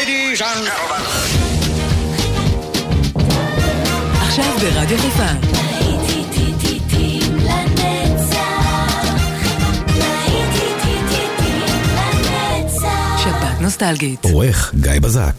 Ladies and gentlemen. עכשיו ברדיו חיפה. שבת נוסטלגית. עורך גיא בזק.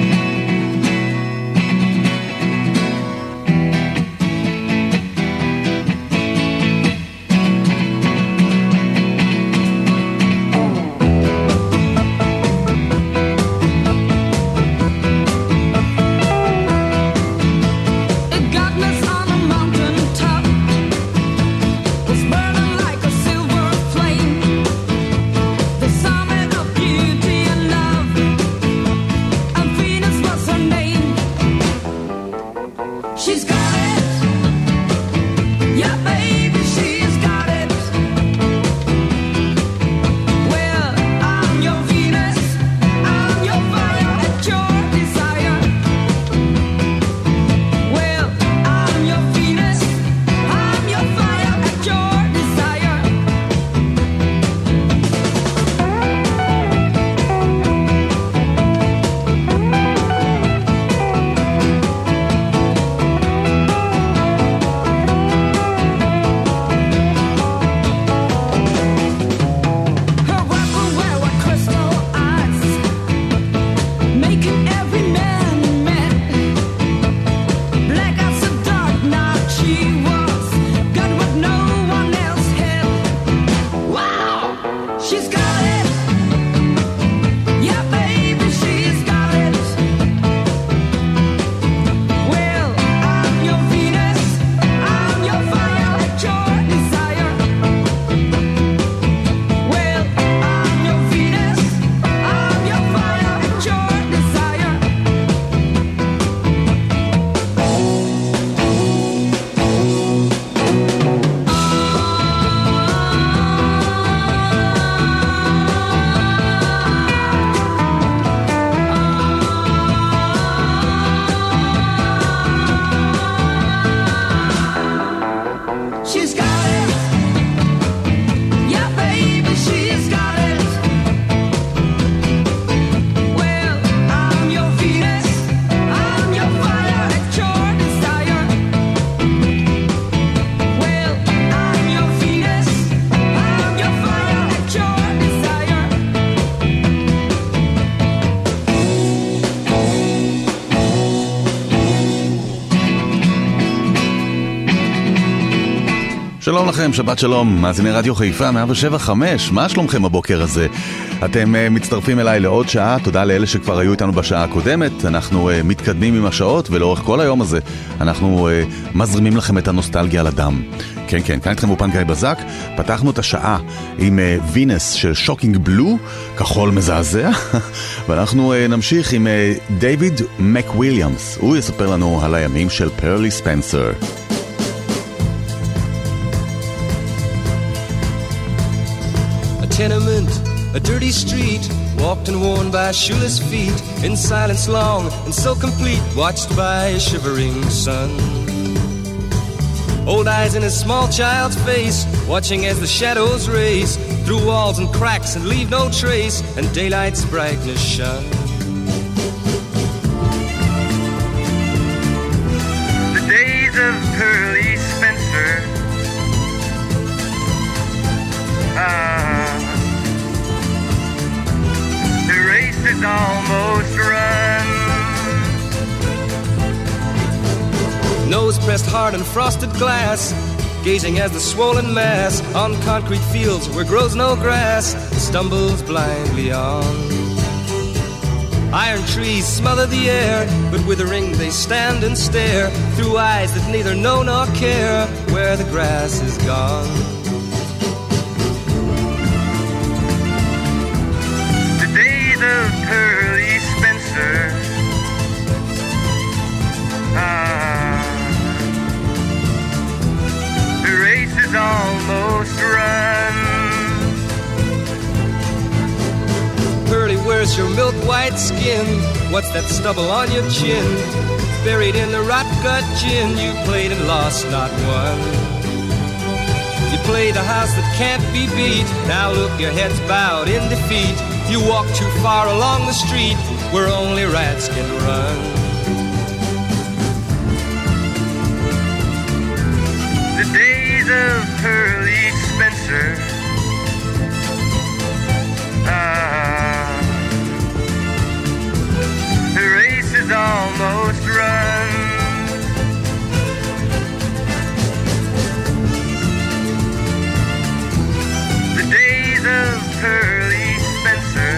שלום לכם, שבת שלום, מאזיני רדיו חיפה 107.5, מה שלומכם הבוקר הזה? אתם מצטרפים אליי לעוד שעה, תודה לאלה שכבר היו איתנו בשעה הקודמת, אנחנו מתקדמים עם השעות ולאורך כל היום הזה אנחנו מזרימים לכם את הנוסטלגיה על הדם. כן, כן, כאן איתכם אופן גיא בזק, פתחנו את השעה עם וינס של שוקינג בלו, כחול מזעזע, ואנחנו נמשיך עם דיוויד מקוויליאמס, הוא יספר לנו על הימים של פרלי ספנסר. Tenement, a dirty street, walked and worn by shoeless feet, in silence long and so complete, watched by a shivering sun. Old eyes in a small child's face, watching as the shadows race through walls and cracks and leave no trace, and daylight's brightness shone. The days of Pearly Spencer, the race is almost run. Nose pressed hard on frosted glass, gazing as the swollen mass on concrete fields where grows no grass stumbles blindly on. Iron trees smother the air, but withering they stand and stare through eyes that neither know nor care where the grass is gone. Of Pearly Spencer, the race is almost run. Pearly, where's your milk white skin? What's that stubble on your chin? Buried in the rot gut gin, you played and lost not one. You played a house that can't be beat, now look, your head's bowed in defeat. You walk too far along the street where only rats can run. The days of Pearly Spencer, the race is almost run. The days of Pearly Spencer,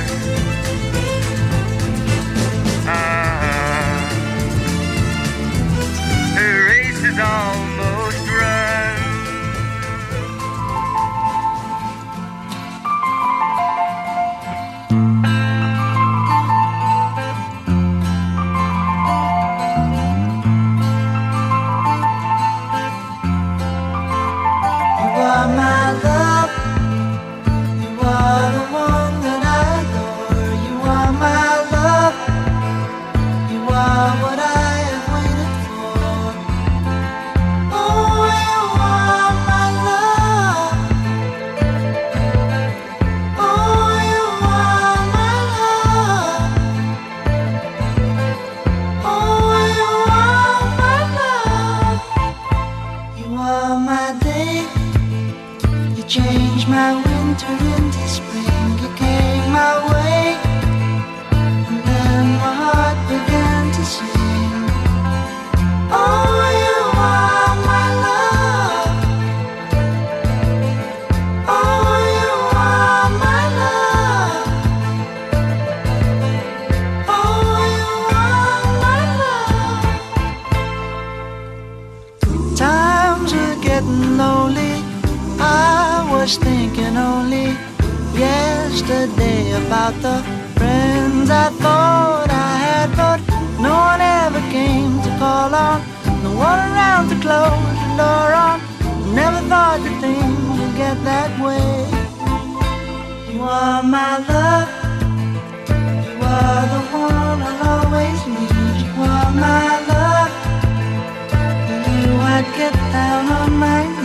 the race is almost run. Thinking only yesterday about the friends I thought I had, but no one ever came to call on, no one around to close the door on. Never thought that things would get that way. You are my love, you are the one I'll always need. You are my love, for you I'd get down on my knees.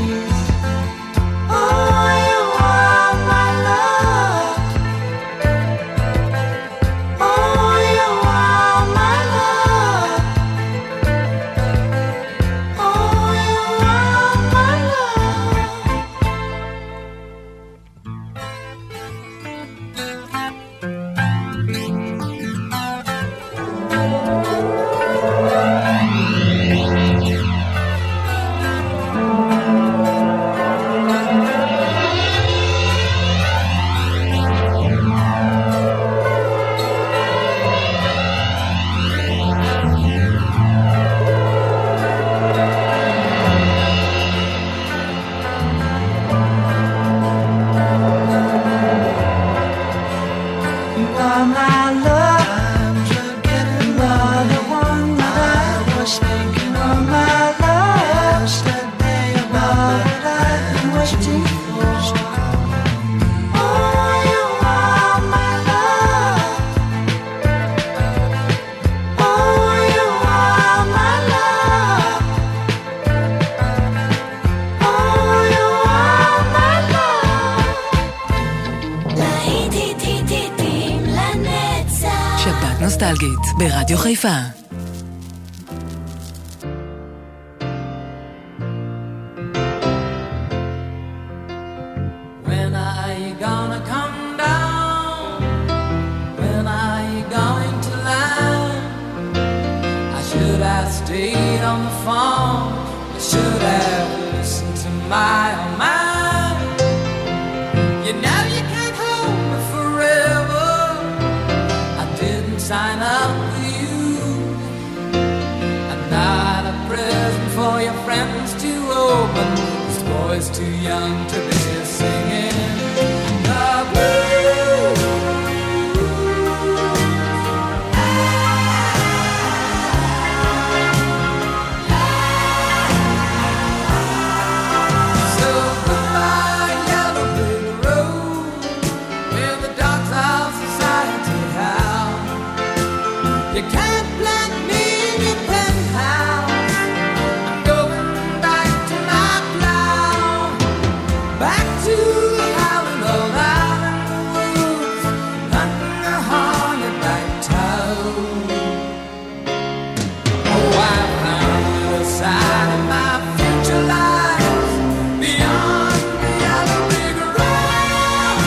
נוסטלגית ברדיו חיפה. When are you gonna come down? When are you going to land? I should have stayed on the phone. I should have listened to my own mind. You know you can't hold me forever. I didn't sign up with you. I'm not a present for your friends to open. This boy's too young to be singing the blues. So goodbye, yellow brick road, where the dogs of society howl. You can't plant me in your penthouse. I'm going back to my plow. Oh, I found the side of my future lies beyond the yellow brick road.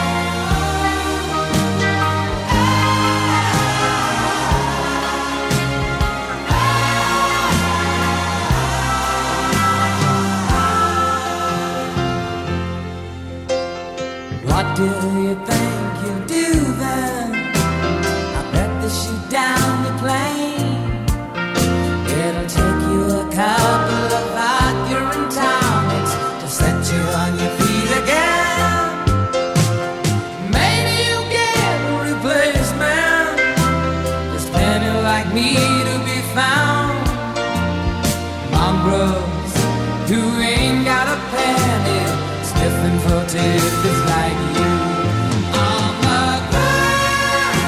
What do you think you'll do then? I bet they shoot down the plane. It'll take you a couple of arguing tonics to set you on your feet again. Maybe you'll get a replacement. There's plenty like me to be found. Mongrels who ain't got a penny, sniffing for tidbits like you. On the ground.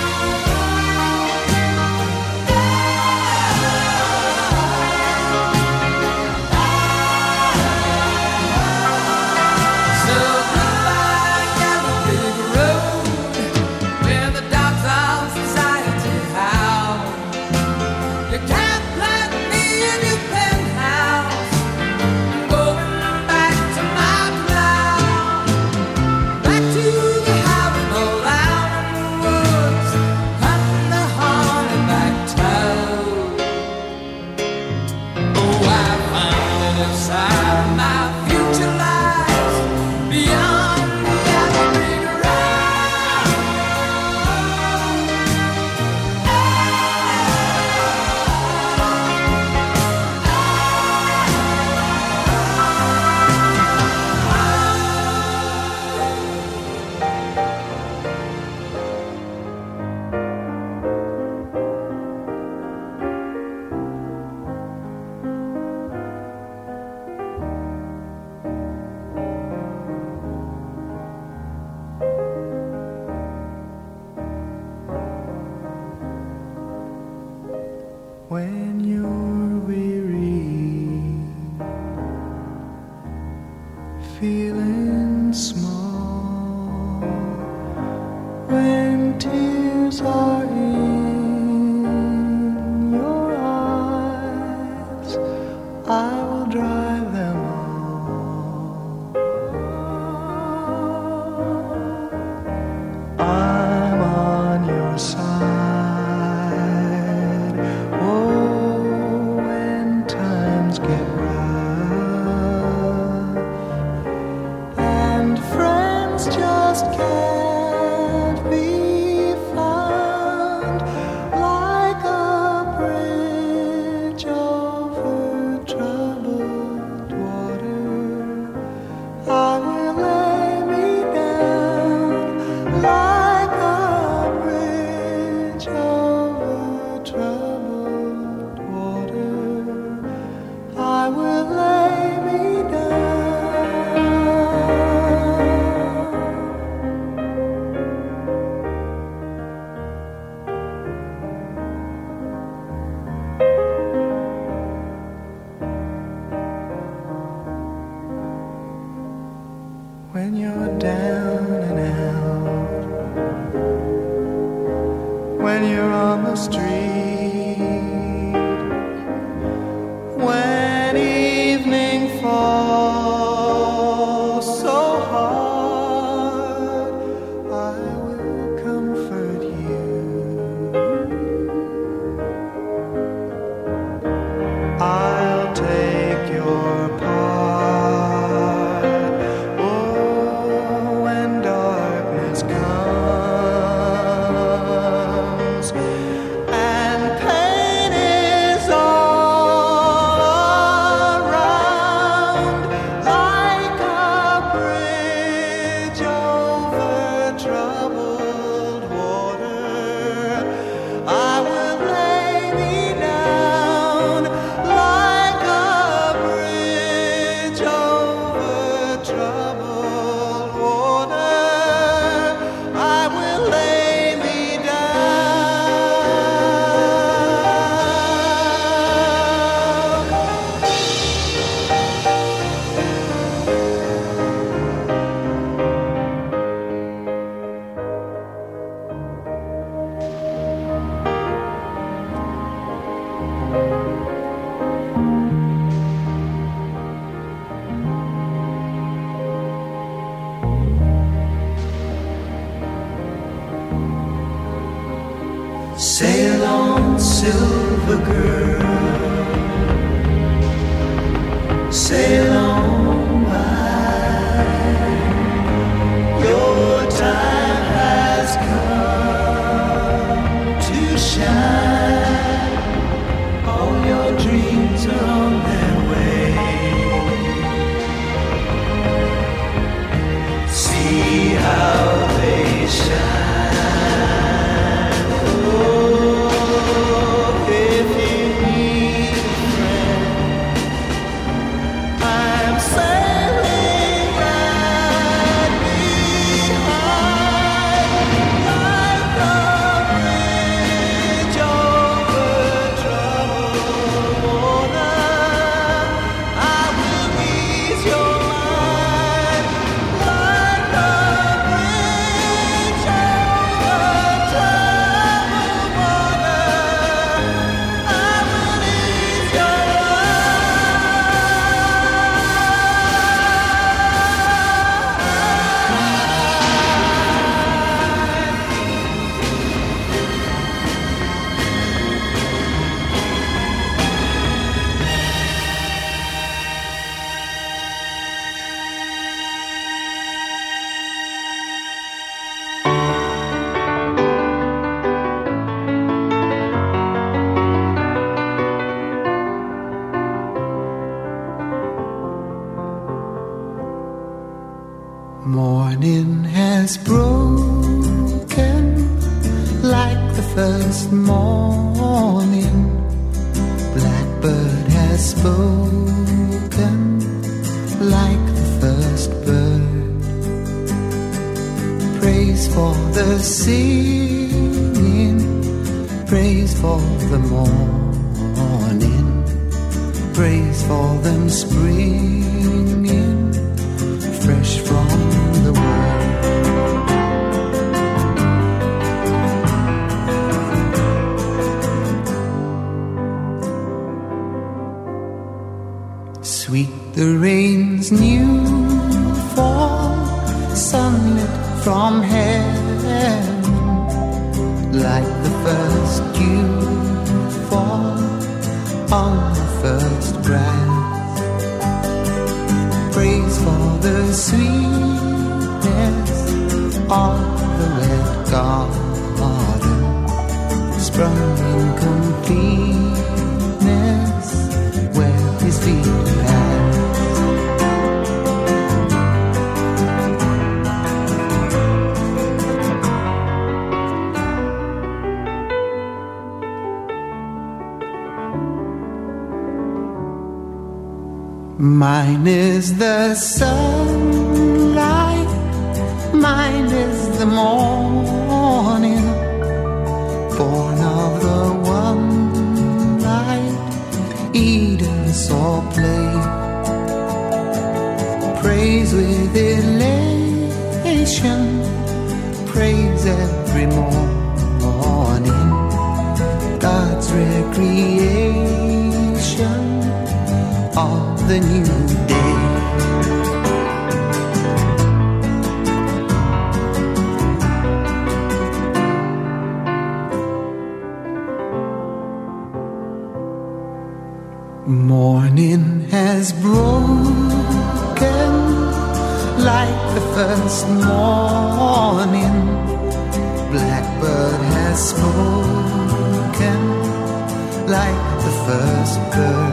So goodbye, yellow brick road, where the dogs of society howl. You can't plant me in your penthouse. I'm going back to my plow, back to the house all out in the woods, cutting the horny back toe. Oh, I found it inside my future lies beyond the yellow brick road. When you're weary, feeling small, when tears are in your eyes, I will dry them all. I'm on your side. Oh, when times get rough and friends just can't be found, like a bridge over troubled water, I will lay me down like a bridge over troubled water. I will lay me down. When you're down and out, when you're on the street, when evening falls so hard, I will comfort you. I'll take your part. Oh, when darkness comes and Sail on, silver girl, sail on by. Your time has come to shine. All your dreams are on their way. See how they shine. Morning has broken like the first morning. Blackbird has spoken like the first bird. Praise for the singing, praise for the morning, praise for them springing fresh from the world. Sweet the rain's new fall, sunlit from heaven, like the first dew fall on the first grass. Praise for the sweetness of the red garden, sprung in completeness where his feet pass. Mine is the sunlight, mine is the morning, born of the one light Eden saw play. Praise with elation, praise every morning, God's recreation of the new day. Morning has broken like the first morning. Blackbird has spoken like the first bird.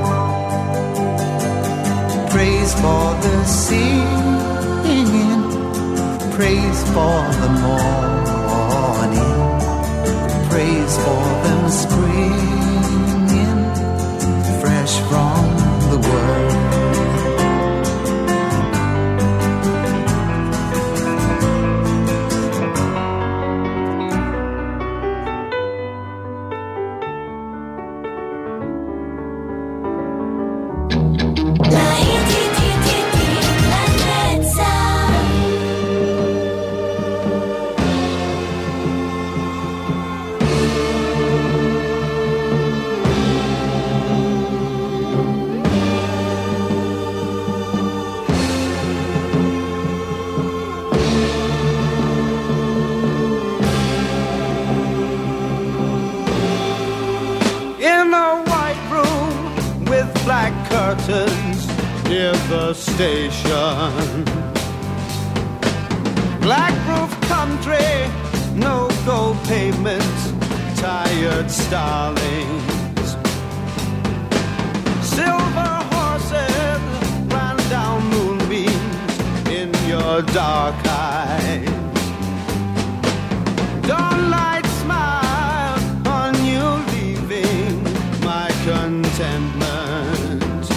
Praise for the singing, praise for the morning, praise for them springing fresh from the world. black curtains near the station. Black roof country, no gold pavements, tired starlings. Silver horses ran down moonbeams in your dark eyes. Dawnlight smile on you leaving my contentment.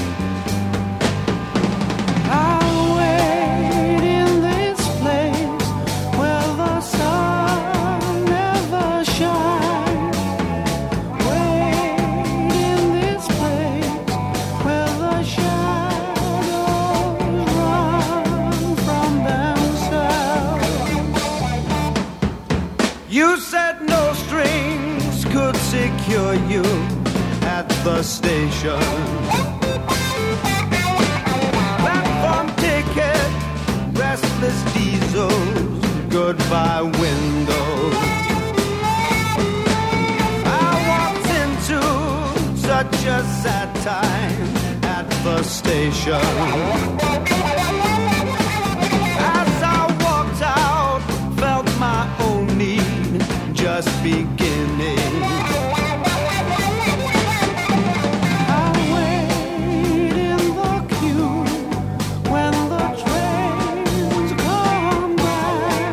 I'll wait in this place where the sun never shines. Wait in this place where the shadows run from themselves. You said no strings could secure you at the station. Platform ticket, restless diesels, goodbye windows. I walked into such a sad time at the station. As I walked out, felt my own need just beginning. I wait in the queue when the trains come back.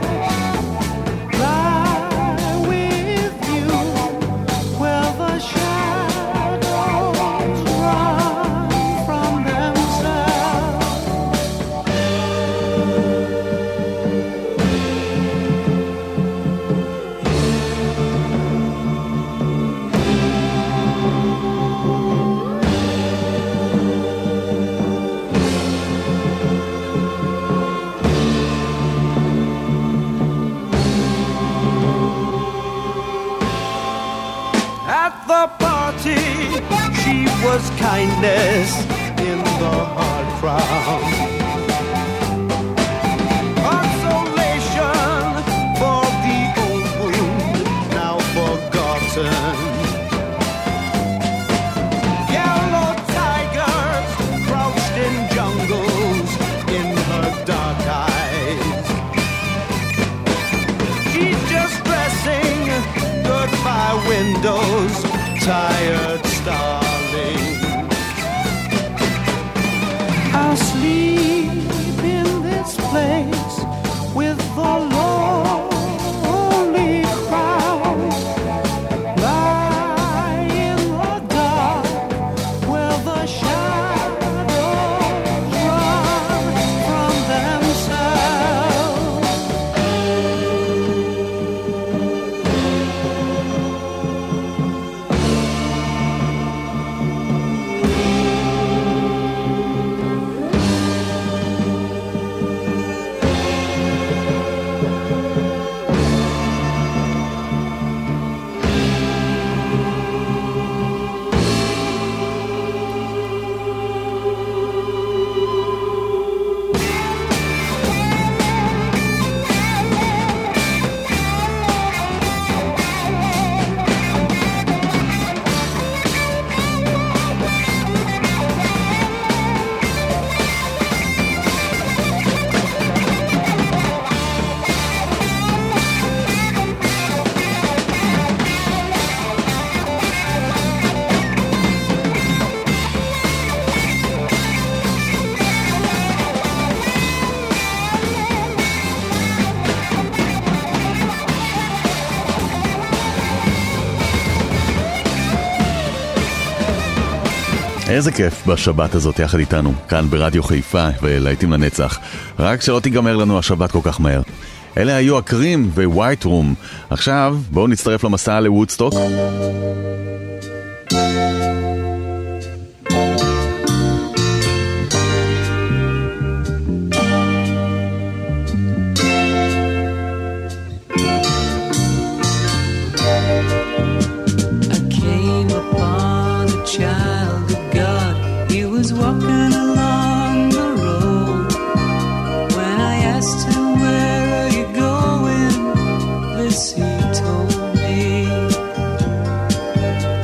Lie with you where the shadows run from themselves. At the party, she was kindness in the hard crowd. Consolation for the old wound now forgotten. Yellow tigers crouched in jungles in her dark eyes. She's just dressing goodbye windows, tired starling. I'll sleep in this place with the lonely crowd. Lie in the dark where the shadows run from themselves. איזה כיף בשבת הזאת יחד איתנו, כאן ברדיו חיפה ולהיטים לנצח. רק שלא תיגמר לנו השבת כל כך מהר. אלה היו הקרים ווייט רום. עכשיו בואו נצטרף למסע לוודסטוק. Walking along the road. When I asked him, where are you going? This he told me.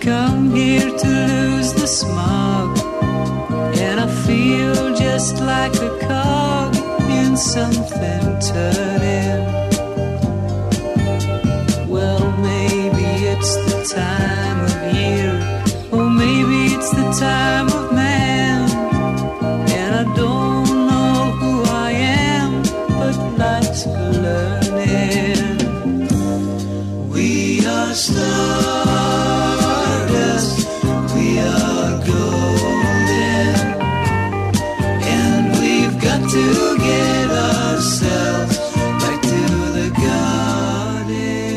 come here to lose the smog, and I feel just like a cog in something turning. Well, maybe it's the time of year, or maybe it's the time of man, and I don't know who I am, but life's for learning. We are stardust, we are golden, and we've got to get ourselves back to the garden.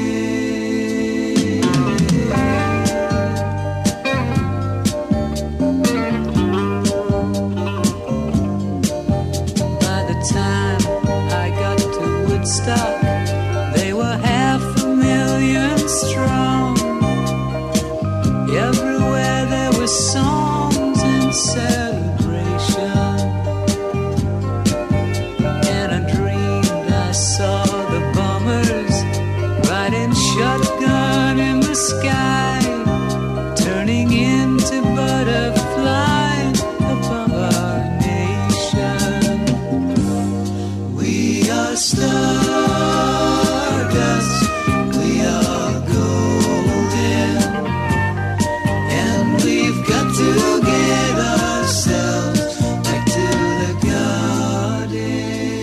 By the time I got to Woodstock, they were 500,000 strong. Everywhere there were songs and celebration, and I dreamed I saw the bombers riding shotgun in the sky, turning into butterflies above our nation. We are stardust, we are golden, and we've got to get ourselves back to the garden.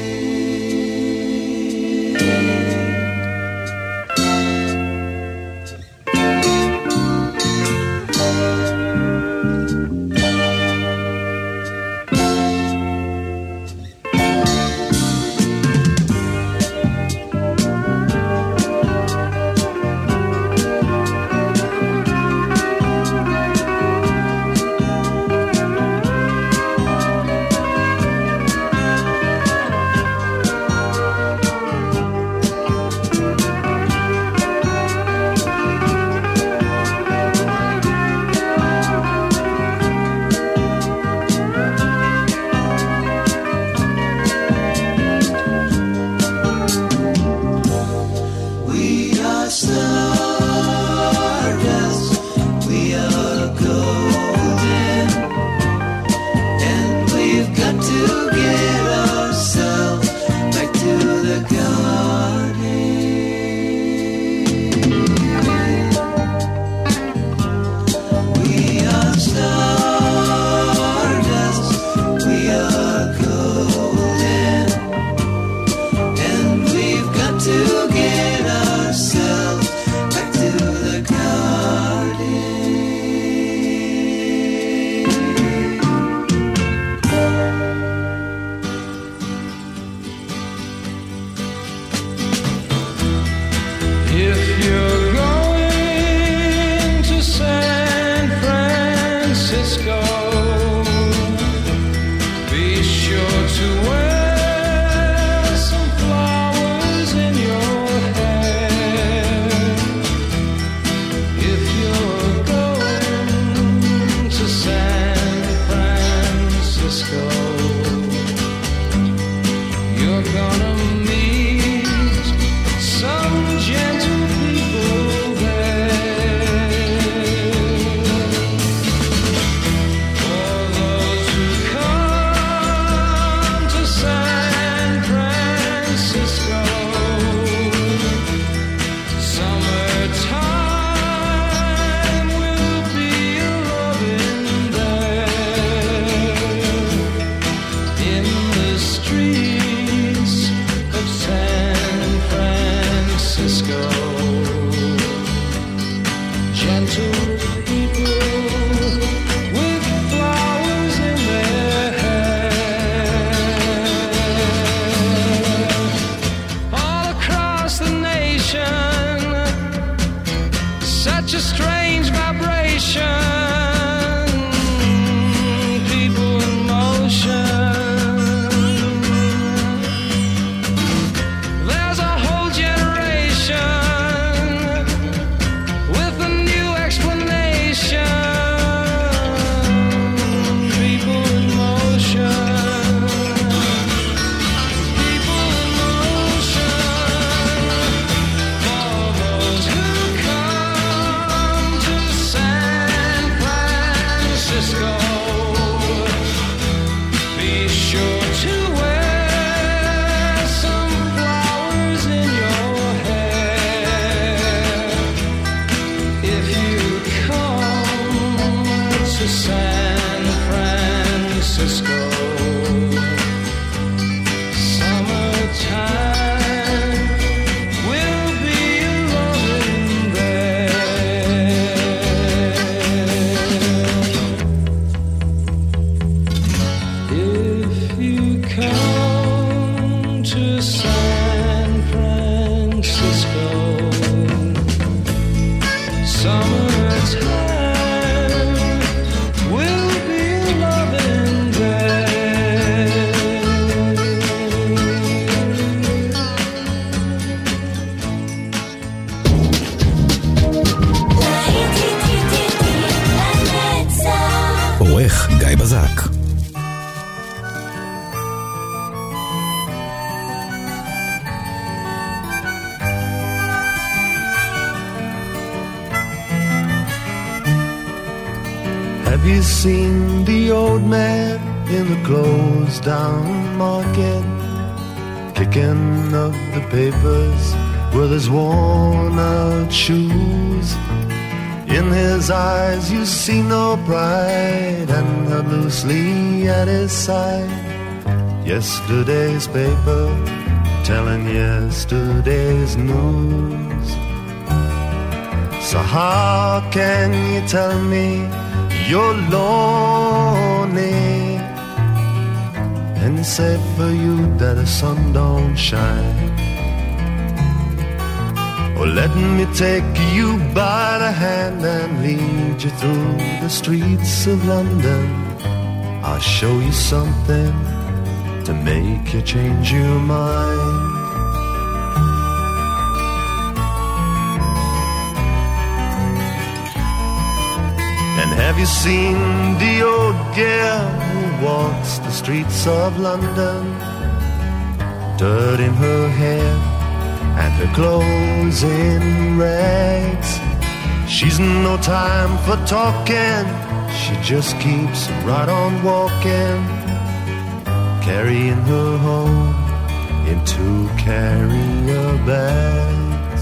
We are stardust, we are golden, and we've got to get ourselves back to the garden. We are stardust, we are golden, and we've got to get ourselves back to the garden. If you're going to San Francisco, be sure to wear some flowers in your hair. If you're going to San Francisco, you're gonna meet some gentle people there. For those who come to San Francisco, summertime will be a loving there. In the streets of San Francisco, gentle people with flowers in their hair. All across the nation, such a strange vibration, people in motion. There's a whole generation with a new explanation. San Francisco. Summertime will be loving there. If you come to San Francisco, summertime will be loving there. עורך גיא בזק. Have you seen the old man in the closed down market, kicking up the papers with his worn out shoes? In his eyes you see no pride, and held loosely at his side yesterday's paper, telling yesterday's news. So how can you tell me you're lonely, and say for you that the sun don't shine? Or let me take you by the hand and lead you through the streets of London. I'll show you something to make you change your mind. And have you seen the old girl who walks the streets of London, dirt in her hair and her clothes in rags? She's no time for talking, she just keeps right on walking, carrying her home in 2 carrier bags.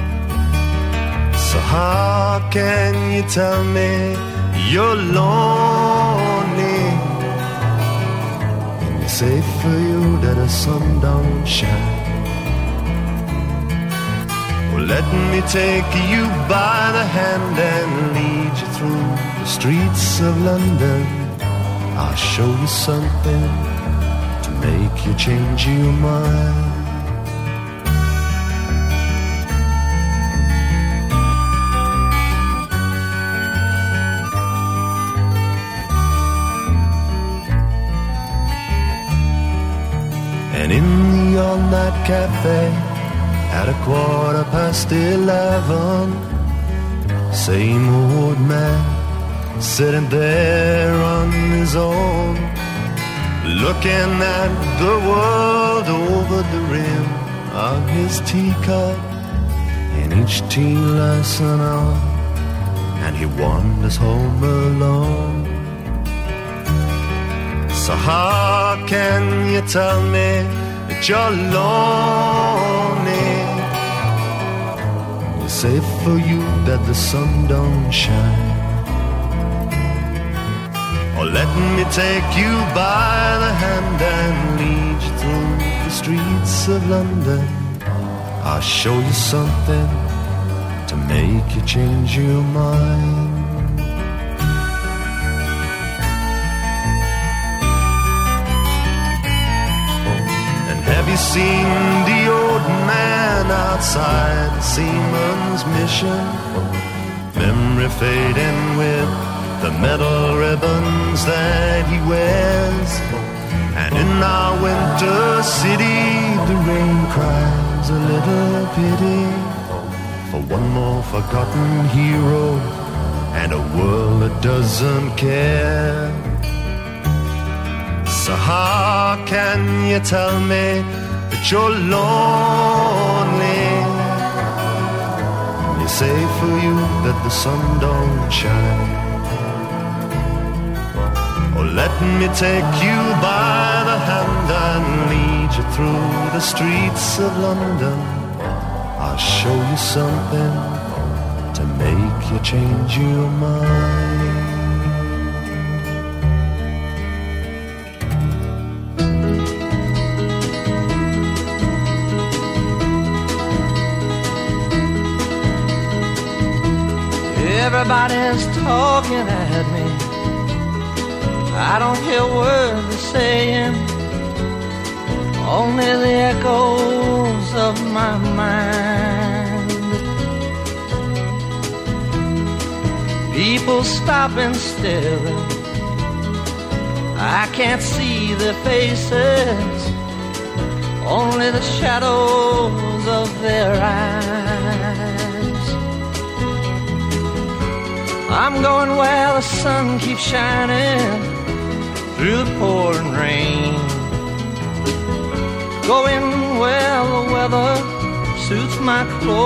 So how can you tell me you're lonely, and it's safe for you that the sun don't shine? Well, let me take you by the hand and lead you through the streets of London. I'll show you something to make you change your mind. And in the all-night cafe at 11:15, same old man sitting there on his own, looking at the world over the rim of his teacup, and each tea lasts an hour, and he wanders home alone. So how can you tell me that you're lonely? It's safe for you that the sun don't shine. Or let me take you by the hand and lead you through the streets of London. I'll show you something to make you change your mind. Have you seen the old man outside the seaman's mission? Memory fading with the metal ribbons that he wears. And in our winter city, the rain cries a little pity for one more forgotten hero and a world that doesn't care. So how can you tell me that you're lonely? It's safe for you that the sun don't shine. Or let me take you by the hand and lead you through the streets of London. I'll show you something to make you change your mind. Everybody's talking at me. I don't hear words they're saying, only the echoes of my mind. People stop and stare. I can't see their faces, only the shadows of their eyes. I'm going where the sun keeps shining through the pouring rain, going where the weather suits my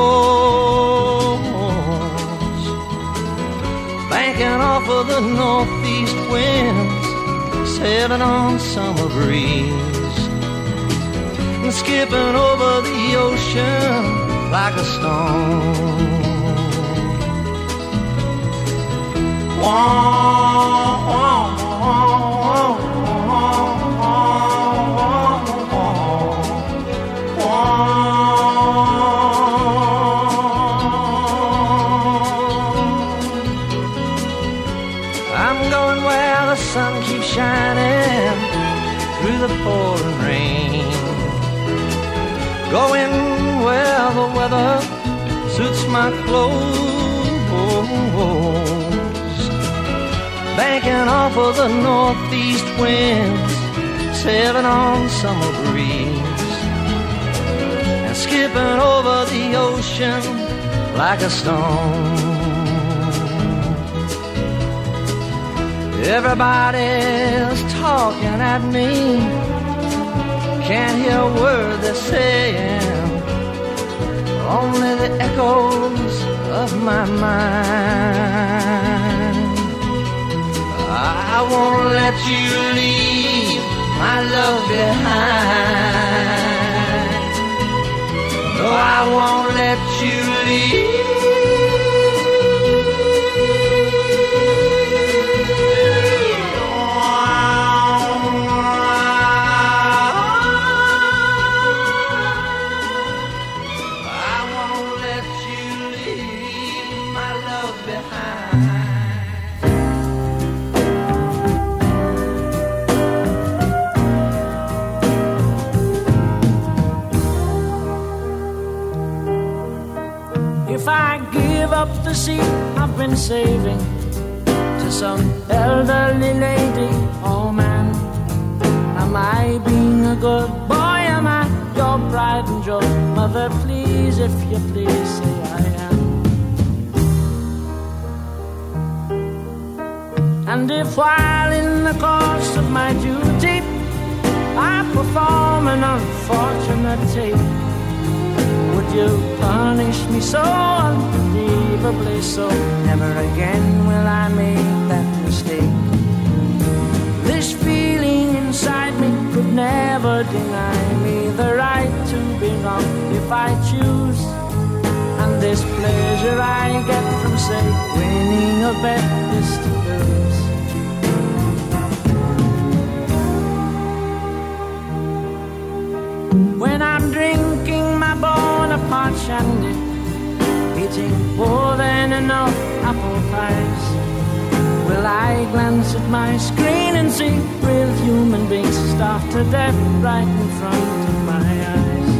clothes, banking off of the northeast winds, sailing on summer breeze, and skipping over the ocean like a stone. I'm going where the sun keeps shining through the pouring rain, going where the weather suits my clothes, banking off of the northeast winds, sailing on summer breeze, and skipping over the ocean like a stone. Everybody's talking at me, can't hear a word they're saying, only the echoes of my mind. I won't let you leave my love behind. No, I won't let you leave. Up the seat I've been saving to some elderly lady or man. Am I being a good boy? Am I your pride and joy? Mother, please, if you please, say I am. And if while in the course of my duty I perform an unfortunate tape, would you punish me so unbelievably so? Never again will I make that mistake. This feeling inside me could never deny me the right to be wrong if I choose. And this pleasure I get from, say, winning a bet is to lose. When I'm drinking my Bonaparte shandy, eating more than enough apple pies, will I glance at my screen and see real human beings starve to death right in front of my eyes?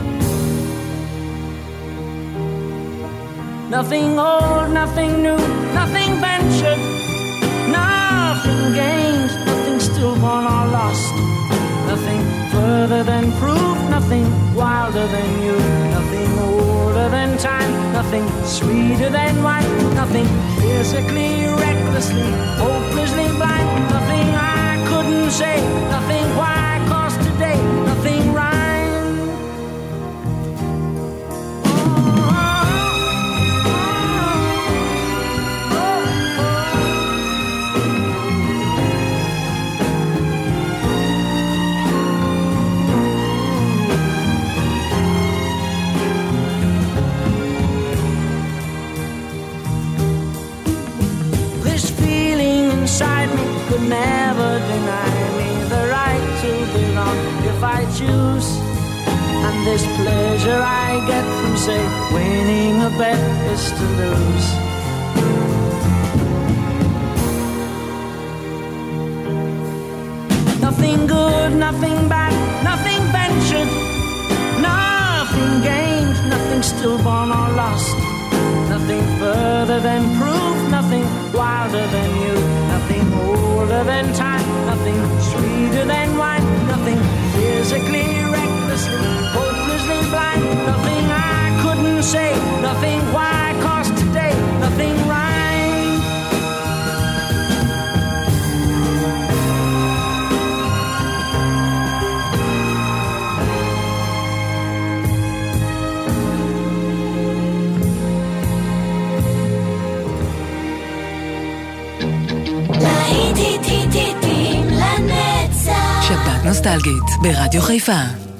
Nothing old, nothing new, nothing ventured, nothing gained, nothing stillborn or lost, nothing further than proof, nothing wilder than you, nothing older than time, nothing sweeter than wine, nothing physically, recklessly, hopelessly blind, nothing I couldn't say, nothing why, 'cause today nothing rhymes. Inside me could never deny me the right to be wrong if I choose. And this pleasure I get from, say, winning a bet is to lose. further than proof, nothing wilder than you, nothing older than time, nothing sweeter than wine, nothing physically, recklessly, hopelessly blind, nothing I couldn't say, nothing why, 'cause today, nothing right. שבת נוסטלגית ברדיו חיפה.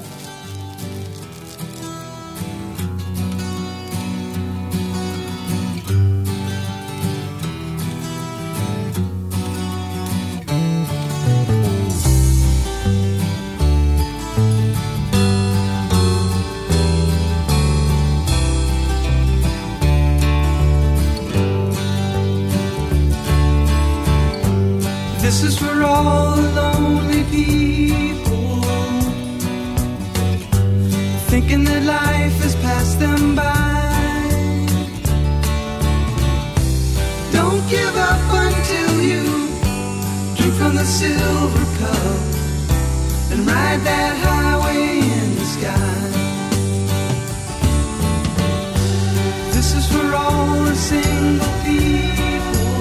This is for all the lonely people, thinking that life has passed them by. Don't give up until you drink from the silver cup and ride that highway in the sky. This is for all the single people,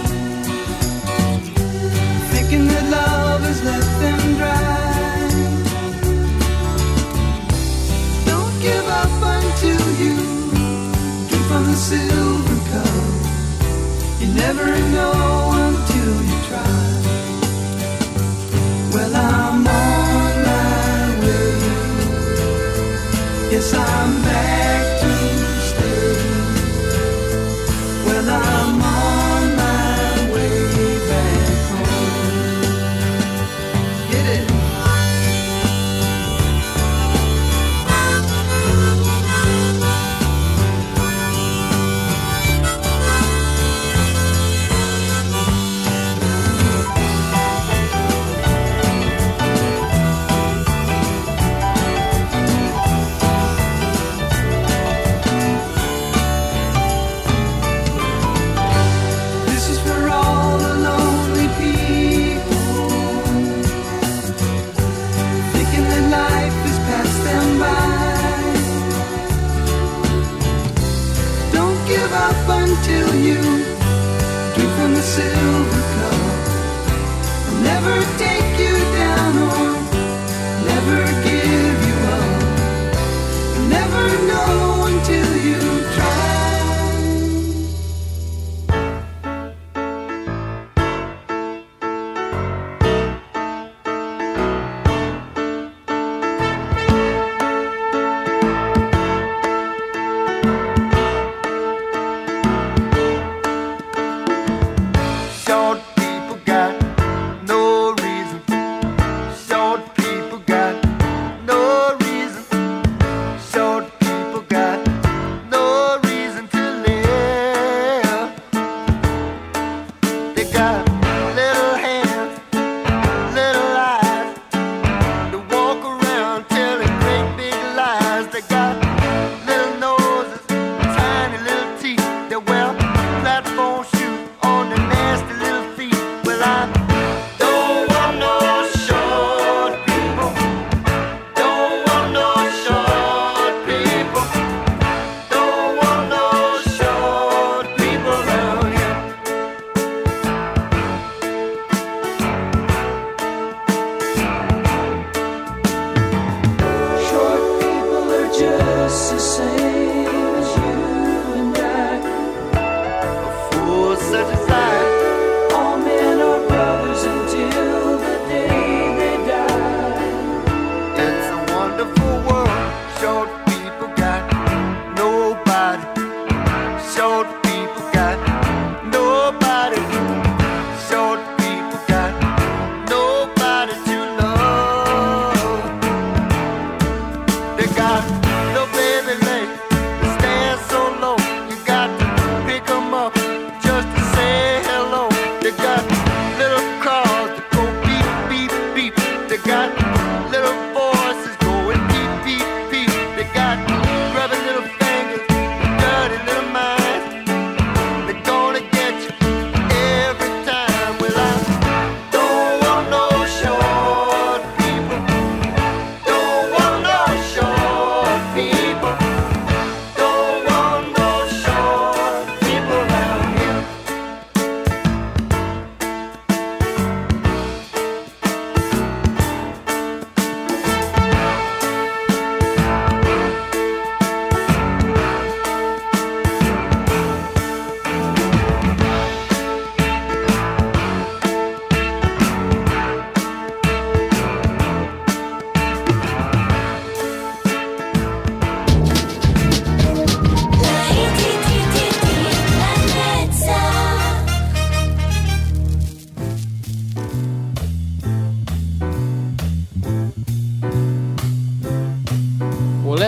thinking that love has left them dry. Don't give up until you drink from the silver cup. You never know until you try. Well, I'm on my way. Yes, I'm back to stay. Well, I'm on my way back home. Get it?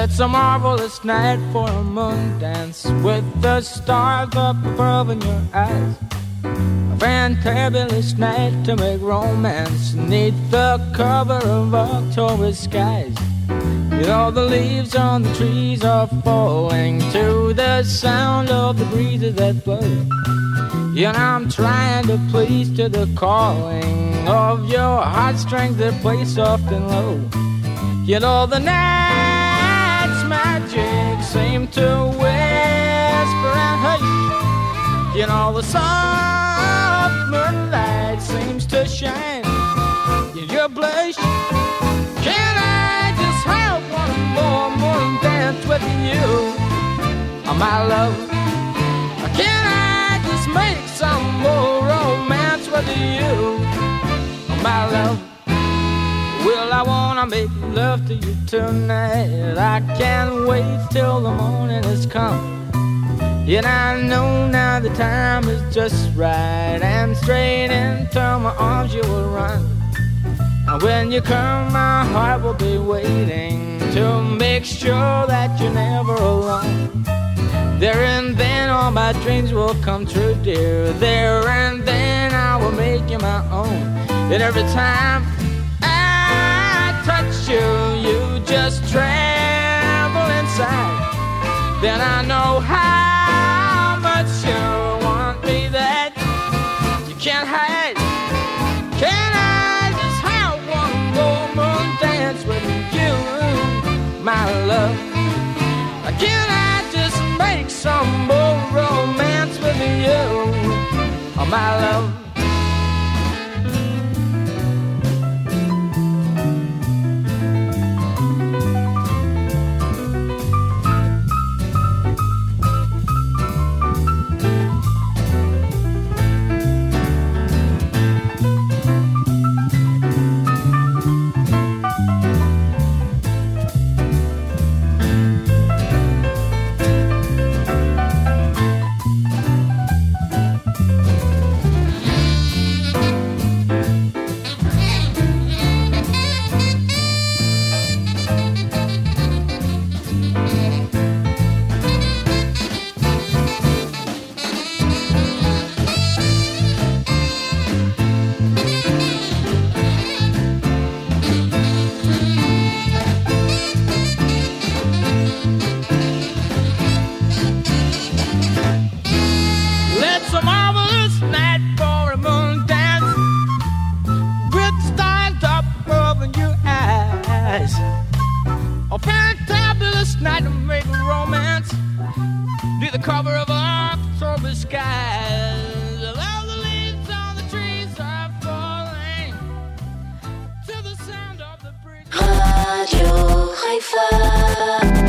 It's a marvelous night for a moon dance with the stars up above in your eyes. A fantabulous night to make romance neath the cover of October skies. You know the leaves on the trees are falling to the sound of the breezes that blow. You know I'm trying to please to the calling of your heartstrings that play soft and low. You know the night's magic seems to whisper and hush. You know the soft moonlight seems to shine in your blush. Can I just have one more morning dance with you, oh, my love? Can I just make some more romance with you, oh, my love? Well, I wanna make love to you tonight. I can't wait till the morning has come. Yet I know now the time is just right, and straight into my arms you will run. And when you come, my heart will be waiting to make sure that you're never alone. There and then all my dreams will come true, dear. There and then I will make you my own. And every time touch you, you just tremble inside. Then I know how much you want me that you can't hide. Can I just have one more moon dance with you, my love? Can I just make some more romance with you, oh, my love? A fantabulous night to make romance, be the cover of October skies. All the leaves on the trees are falling to the sound of the breeze. Radio Haifa.